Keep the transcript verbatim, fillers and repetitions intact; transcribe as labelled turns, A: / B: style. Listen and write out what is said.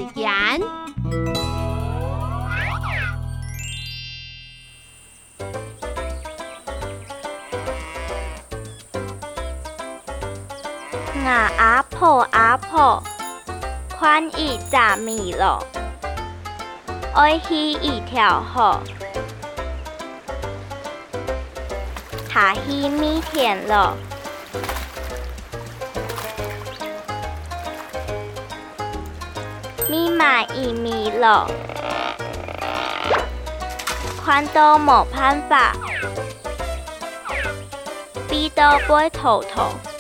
A: 言。
B: 我阿婆阿婆，看伊十米咯，爱去一条河，下去米田咯。咪买一米咯，看到冇办法，逼到杯头头。